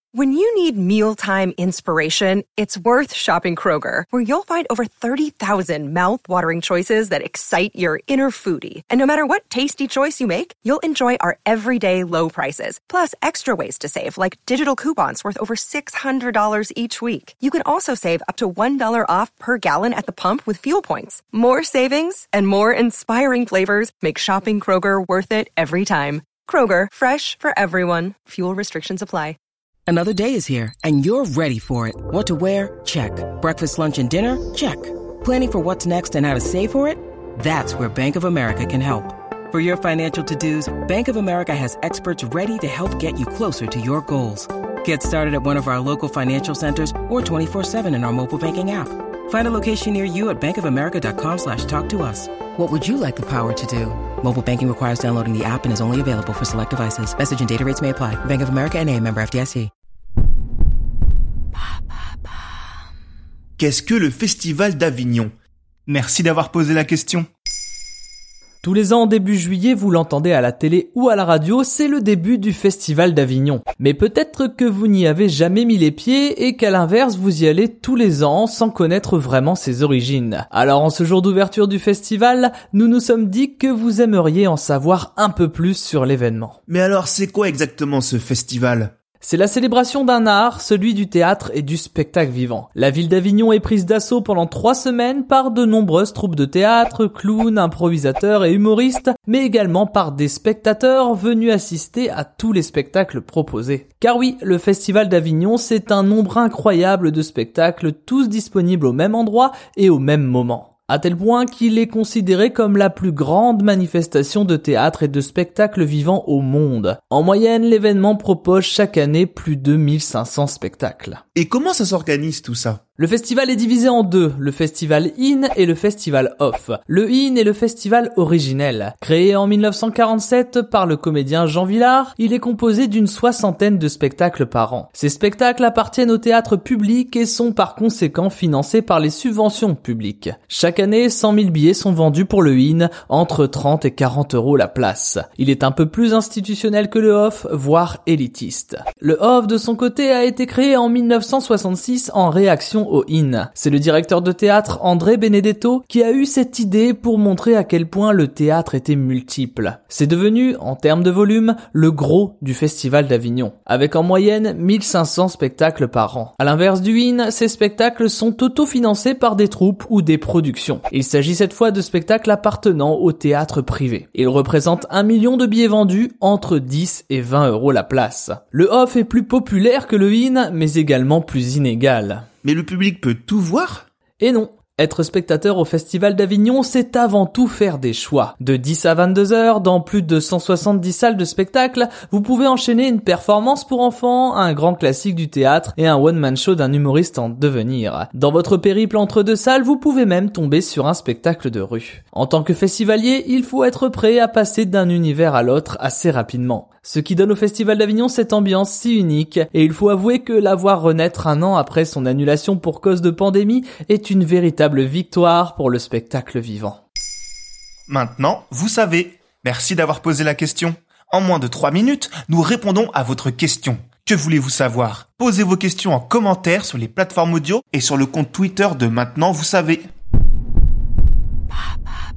When you need mealtime inspiration, it's worth shopping Kroger, where you'll find over 30,000 mouth-watering choices that excite your inner foodie. And no matter what tasty choice you make, you'll enjoy our everyday low prices, plus extra ways to save, like digital coupons worth over $600 each week. You can also save up to $1 off per gallon at the pump with fuel points. More savings and more inspiring flavors make shopping Kroger worth it every time. Kroger, fresh for everyone. Fuel restrictions apply. Another day is here, and you're ready for it. What to wear? Check. Breakfast, lunch, and dinner? Check. Planning for what's next and how to save for it? That's where Bank of America can help. For your financial to-dos, Bank of America has experts ready to help get you closer to your goals. Get started at one of our local financial centers or 24/7 in our mobile banking app. Find a location near you at bankofamerica.com/talktous. What would you like the power to do? Mobile banking requires downloading the app and is only available for select devices. Message and data rates may apply. Bank of America N.A., member FDIC. Qu'est-ce que le Festival d'Avignon? Merci d'avoir posé la question. Tous les ans, début juillet, vous l'entendez à la télé ou à la radio, c'est le début du Festival d'Avignon. Mais peut-être que vous n'y avez jamais mis les pieds et qu'à l'inverse, vous y allez tous les ans sans connaître vraiment ses origines. Alors en ce jour d'ouverture du festival, nous nous sommes dit que vous aimeriez en savoir un peu plus sur l'événement. Mais alors, c'est quoi exactement ce festival? C'est la célébration d'un art, celui du théâtre et du spectacle vivant. La ville d'Avignon est prise d'assaut pendant 3 semaines par de nombreuses troupes de théâtre, clowns, improvisateurs et humoristes, mais également par des spectateurs venus assister à tous les spectacles proposés. Car oui, le Festival d'Avignon, c'est un nombre incroyable de spectacles, tous disponibles au même endroit et au même moment. À tel point qu'il est considéré comme la plus grande manifestation de théâtre et de spectacle vivant au monde. En moyenne, l'événement propose chaque année plus de 1500 spectacles. Et comment ça s'organise tout ça? Le festival est divisé en deux, le festival In et le festival Off. Le In est le festival originel. Créé en 1947 par le comédien Jean Vilar, il est composé d'une 60aine de spectacles par an. Ces spectacles appartiennent au théâtre public et sont par conséquent financés par les subventions publiques. Chaque année, 100 000 billets sont vendus pour le In, entre 30 et 40 € la place. Il est un peu plus institutionnel que le Off, voire élitiste. Le Off, de son côté, a été créé en 1966 en réaction au In. C'est le directeur de théâtre André Benedetto qui a eu cette idée pour montrer à quel point le théâtre était multiple. C'est devenu, en termes de volume, le gros du Festival d'Avignon, avec en moyenne 1500 spectacles par an. À l'inverse du In, ces spectacles sont autofinancés par des troupes ou des productions. Il s'agit cette fois de spectacles appartenant au théâtre privé. Ils représentent 1 million de billets vendus, entre 10 et 20 € la place. Le Off est plus populaire que le In, mais également plus inégal. Mais le public peut tout voir? Et non. Être spectateur au Festival d'Avignon, c'est avant tout faire des choix. De 10 à 22 heures, dans plus de 170 salles de spectacle, vous pouvez enchaîner une performance pour enfants, un grand classique du théâtre et un one-man show d'un humoriste en devenir. Dans votre périple entre deux salles, vous pouvez même tomber sur un spectacle de rue. En tant que festivalier, il faut être prêt à passer d'un univers à l'autre assez rapidement. Ce qui donne au Festival d'Avignon cette ambiance si unique, et il faut avouer que la voir renaître un an après son annulation pour cause de pandémie est une véritable victoire pour le spectacle vivant. Maintenant, vous savez. Merci d'avoir posé la question. En moins de 3 minutes, nous répondons à votre question. Que voulez-vous savoir? Posez vos questions en commentaire sur les plateformes audio et sur le compte Twitter de Maintenant, vous savez.